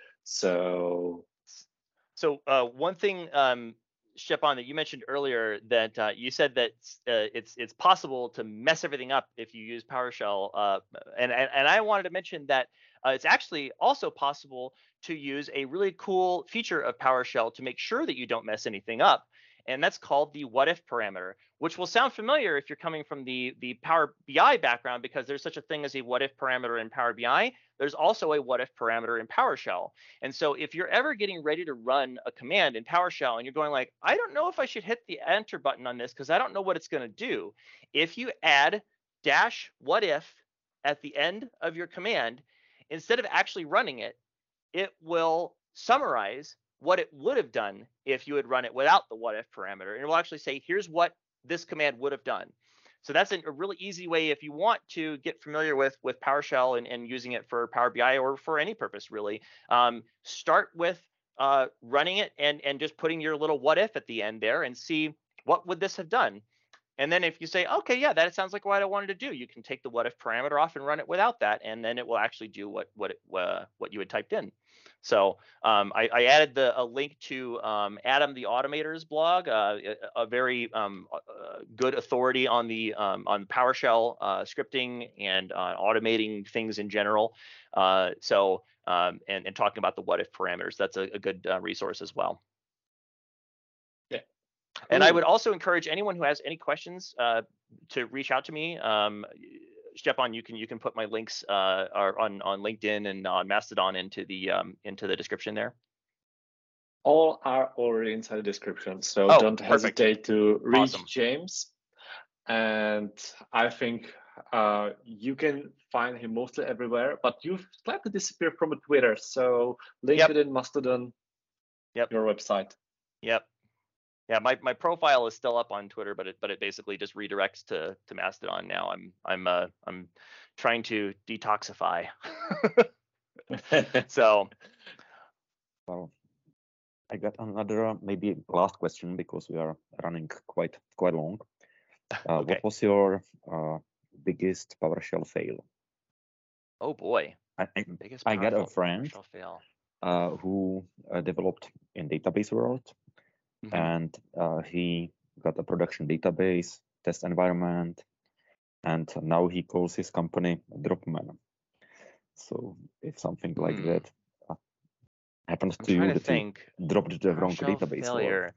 So
So uh, one thing, um, Stepan, that you mentioned earlier, that uh, you said that uh, it's it's possible to mess everything up if you use PowerShell, uh, and, and and I wanted to mention that uh, it's actually also possible to use a really cool feature of PowerShell to make sure that you don't mess anything up, and that's called the what if parameter, which will sound familiar if you're coming from the the Power B I background, because there's such a thing as a what if parameter in Power B I. There's also a what if parameter in PowerShell. And so if you're ever getting ready to run a command in PowerShell and you're going like, I don't know if I should hit the enter button on this because I don't know what it's going to do. If you add dash what if at the end of your command, instead of actually running it, it will summarize what it would have done if you had run it without the what if parameter. And it will actually say, here's what this command would have done. So that's a really easy way if you want to get familiar with with PowerShell and, and using it for Power B I or for any purpose really. Um, start with uh, running it and and just putting your little what if at the end there and see what would this have done. And then if you say, okay, yeah, that sounds like what I wanted to do, you can take the what if parameter off and run it without that, and then it will actually do what what it, uh, what you had typed in. So um, I, I added the a link to um, Adam the Automator's blog, uh, a, a very um, uh, good authority on the um, on PowerShell uh, scripting and uh, automating things in general. Uh, so um, and, and talking about the what if parameters, that's a, a good uh, resource as well.
yeah.
And I would also encourage anyone who has any questions uh, to reach out to me. Um, Stepan, you can you can put my links uh, are on on LinkedIn and on Mastodon into the um, into the description there.
All are already inside the description, so
Oh,
don't
perfect.
hesitate to reach
Awesome.
James. And I think uh, you can find him mostly everywhere, but you've slightly disappeared from Twitter, so LinkedIn,
Yep.
Mastodon,
Yep.
your website.
Yep. Yeah, my, my profile is still up on Twitter, but it but it basically just redirects to to Mastodon now. I'm I'm uh I'm trying to detoxify. So
Well, I got another uh, maybe last question because we are running quite quite long. Uh,
okay.
What was your uh, biggest PowerShell fail?
Oh boy.
I, I,
Biggest
I got a
powerful
friend
PowerShell fail.
uh, who uh, developed in database world,
Mhm.
and uh, he got a production database test environment, and now he calls his company Dropman. So if something like
Hmm.
that uh, happens
I'm
to you,
trying to
that you
think.
dropped the wrong
PowerShell
database, or
failure.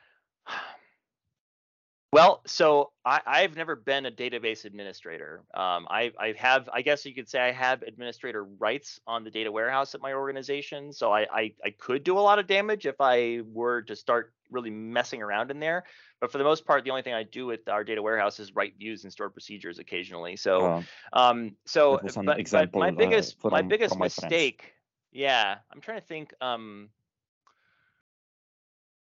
Well, so I, I've never been a database administrator. Um, I, I have, I guess you could say I have administrator rights on the data warehouse at my organization. So I, I, I could do a lot of damage if I were to start really messing around in there. But for the most part, the only thing I do with our data warehouse is write views and store procedures occasionally. So,
uh,
um, so,
that was an
but,
example
but my biggest,
uh,
my
from,
biggest
from my friends.
mistake, yeah, I'm trying to think. Um,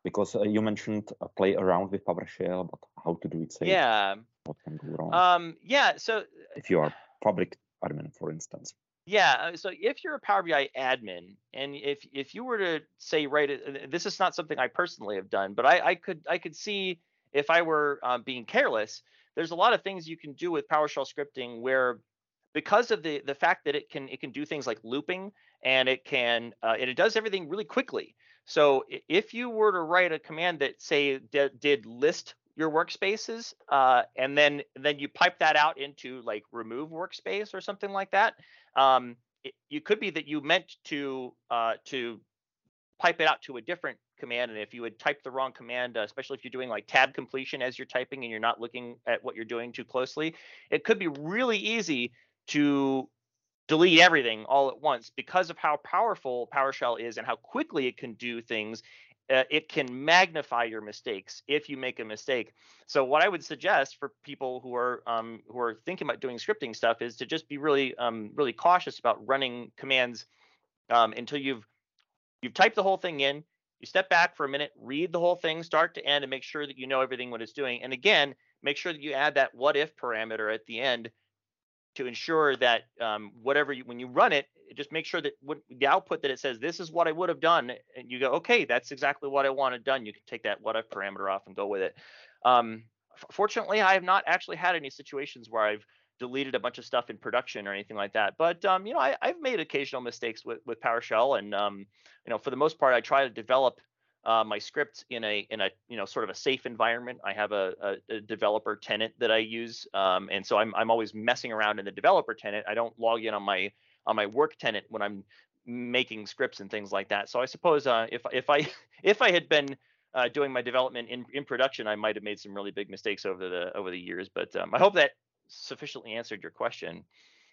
because uh, you mentioned uh, play around with PowerShell, but how to do it safe?
Yeah.
What can go wrong?
Um, yeah. So
if you are Fabric admin, for instance.
Yeah, so if you're a Power B I admin, and if if you were to say, right, uh, this is not something I personally have done, but I, I could I could see if I were um, being careless, there's a lot of things you can do with PowerShell scripting where, because of the the fact that it can it can do things like looping, and it can uh, and it does everything really quickly. So if you were to write a command that say did, did list your workspaces, uh, and then then you pipe that out into like remove workspace or something like that, um, it, you could be that you meant to uh, to pipe it out to a different command, and if you would type the wrong command, uh, especially if you're doing like tab completion as you're typing and you're not looking at what you're doing too closely, it could be really easy to delete everything all at once because of how powerful PowerShell is and how quickly it can do things. Uh, it can magnify your mistakes if you make a mistake. So what I would suggest for people who are um, who are thinking about doing scripting stuff is to just be really um, really cautious about running commands um, until you've you've typed the whole thing in. You step back for a minute, read the whole thing start to end, and make sure that you know everything what it's doing. And again, make sure that you add that what if parameter at the end to ensure that um, whatever you, when you run it, just make sure that what, the output that it says, this is what I would have done, and you go, okay, that's exactly what I wanted done. You can take that what if parameter off and go with it. Um, fortunately, I have not actually had any situations where I've deleted a bunch of stuff in production or anything like that. But um, you know, I, I've made occasional mistakes with with PowerShell, and um, you know, for the most part, I try to develop uh, my script in a in a you know sort of a safe environment. I have a, a, a developer tenant that I use, um, and so I'm I'm always messing around in the developer tenant. I don't log in on my on my work tenant when I'm making scripts and things like that. So I suppose uh, if if I if I had been uh, doing my development in in production, I might have made some really big mistakes over the over the years. But um, I hope that sufficiently answered your question.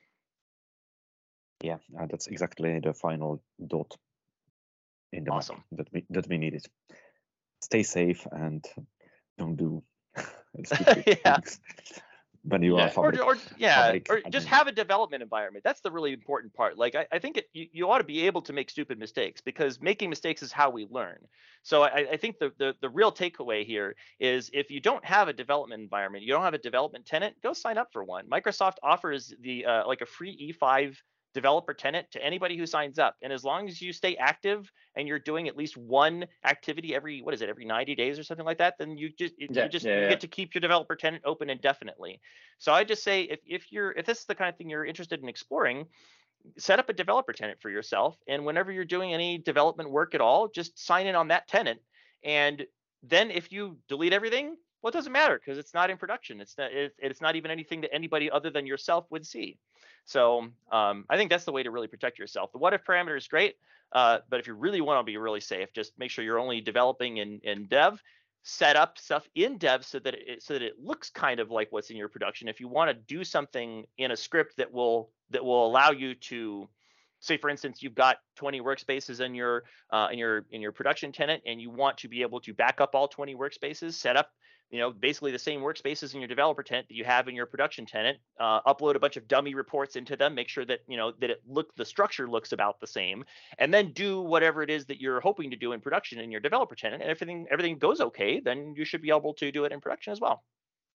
Yeah, uh, that's exactly the final dot in the
Awesome.
map that we that we needed. Stay safe and don't do stupid
yeah.
things when you
Yeah.
are Fabric.
Or, or yeah,
Fabric
or just
admin.
have a development environment. That's the really important part. Like I, I think it, you, you ought to be able to make stupid mistakes, because making mistakes is how we learn. So I, I think the, the the real takeaway here is, if you don't have a development environment, you don't have a development tenant, go sign up for one. Microsoft offers the uh, like a free E five developer tenant to anybody who signs up, and as long as you stay active and you're doing at least one activity every, what is it, every ninety days or something like that, then you just
Yeah,
you just
yeah,
you
yeah.
get to keep your developer tenant open indefinitely. So I just say, if if you're if this is the kind of thing you're interested in exploring, set up a developer tenant for yourself, and whenever you're doing any development work at all, just sign in on that tenant. And then if you delete everything, well, it doesn't matter, because it's not in production. It's not it, it's not even anything that anybody other than yourself would see. So um, I think that's the way to really protect yourself. The what if parameter is great, uh, but if you really want to be really safe, just make sure you're only developing in in dev. Set up stuff in dev so that it so that it looks kind of like what's in your production. If you want to do something in a script that will that will allow you to, say for instance, you've got twenty workspaces in your uh, in your in your production tenant, and you want to be able to back up all twenty workspaces, set up you know basically the same workspaces in your developer tenant that you have in your production tenant, uh, upload a bunch of dummy reports into them, make sure that you know that it look the structure looks about the same, and then do whatever it is that you're hoping to do in production in your developer tenant, and everything everything goes okay, then you should be able to do it in production as well.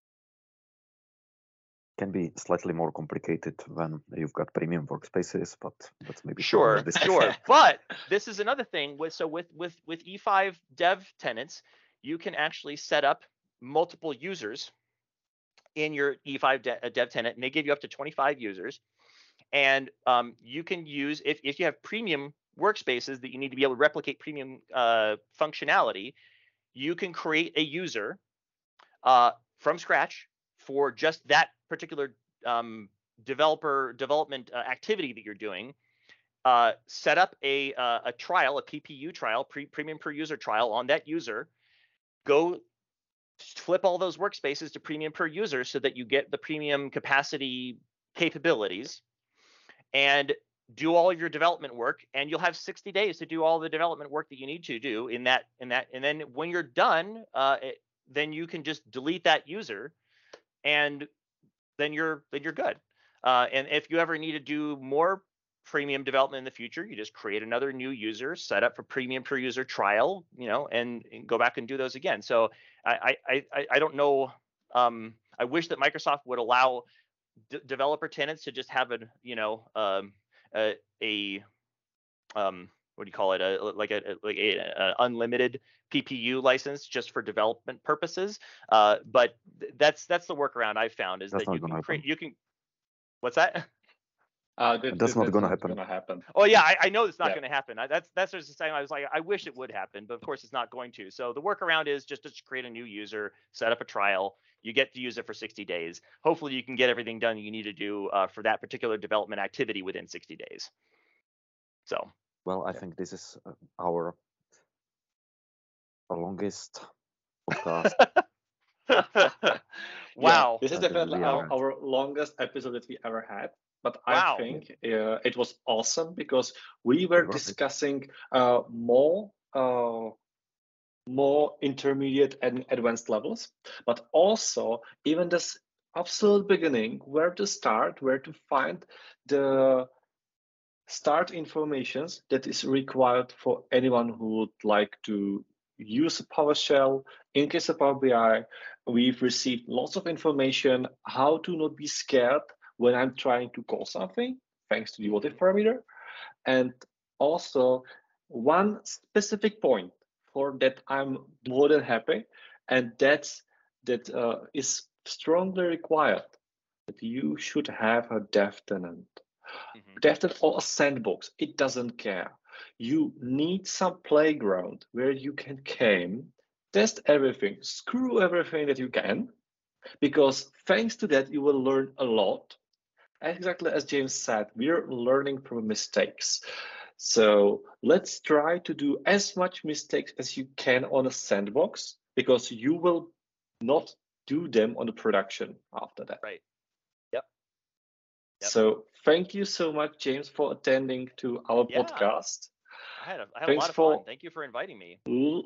Can be slightly more complicated when you've got premium workspaces, but that's maybe
Sure,
discussion.
sure. But this is another thing with so with with with E five dev tenants, you can actually set up multiple users in your E five de- dev tenant, and they give you up to twenty-five users. And um, you can use, if if you have premium workspaces that you need to be able to replicate premium uh, functionality, you can create a user uh, from scratch for just that particular um, developer development uh, activity that you're doing. Uh, set up a uh, a trial, a P P U trial, pre premium per user trial on that user. Go flip all those workspaces to premium per user so that you get the premium capacity capabilities, and do all of your development work, and you'll have sixty days to do all the development work that you need to do in that in that and then when you're done, uh, it, then you can just delete that user, and then you're then you're good. Uh, and if you ever need to do more premium development in the future, you just create another new user, set up for premium per user trial, you know, and, and go back and do those again. So I I I, I don't know. Um, I wish that Microsoft would allow d- developer tenants to just have a you know um, a, a um, what do you call it? A, like a like a, a unlimited P P U license just for development purposes. Uh, but th- that's that's the workaround I've found is
That's
that
not
you
gonna
can create
happen.
you can. What's that?
Uh, that,
That's
that-
not
that's
gonna
not
happen.
gonna happen.
Oh yeah, I, I know it's not
Yeah.
going to happen. I, that's that's just saying. I was like, I wish it would happen, but of course it's not going to. So the workaround is just to create a new user, set up a trial. You get to use it for sixty days. Hopefully, you can get everything done you need to do uh, for that particular development activity within sixty days. So.
Well, I
Yeah.
think this is uh, our longest podcast.
Wow.
Yeah, this is
that
definitely
we
our,
are.
our longest episode that we ever had. But
Wow.
I think uh, it was awesome because we were
It was it.
discussing uh, more uh, more intermediate and advanced levels, but also even this absolute beginning, where to start, where to find the start informations that is required for anyone who would like to use PowerShell. In case of Power B I, we've received lots of information how to not be scared when I'm trying to call something, thanks to the what if parameter. And also one specific point for that I'm more than happy, and that's that uh, is strongly required that you should have a dev tenant.
Mhm.
Dev tenant or a sandbox, it doesn't care. You need some playground where you can come, test everything, screw everything that you can, because thanks to that you will learn a lot. Exactly as James said, we're learning from mistakes. So let's try to do as much mistakes as you can on a sandbox, because you will not do them on the production after that.
Right. Yep. Yep.
So thank you so much, James, for attending to our
Yeah.
podcast.
I had a, I had
Thanks
a lot of
for-
fun. Thank you for inviting me.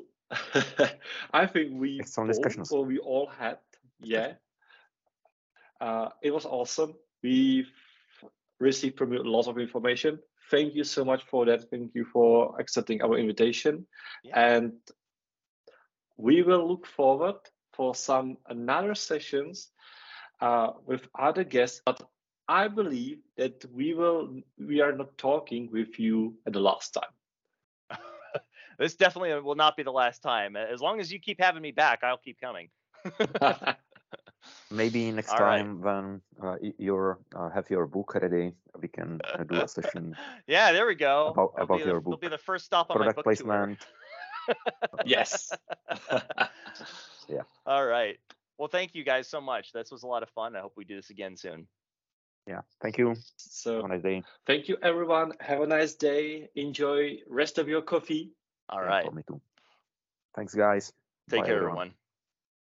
I think we
Excellent
both,
discussions.
or we all had, yeah. Uh, it was awesome. We've received from you lots of information. Thank you so much for that. Thank you for accepting our invitation.
Yeah.
And we will look forward for some another sessions uh, with other guests. But I believe that we will we are not talking with you at the last time.
This definitely will not be the last time. As long as you keep having me back, I'll keep coming.
Maybe next
All right.
time when uh, y- you're uh, have your book ready, we can uh, do a session
Yeah, there we go.
about
That'll
about
be
your
the,
book.
It'll be the first stop on my
Product
book
placement.
tour.
Yes.
Yeah.
All right. Well, thank you guys so much. This was a lot of fun. I hope we do this again soon.
Yeah. Thank you. Have
So
a nice day.
thank you, everyone. Have a nice day. Enjoy rest of your coffee.
All
Yeah,
right.
for me too. Thanks, guys.
Take
Bye,
care,
everyone.
everyone.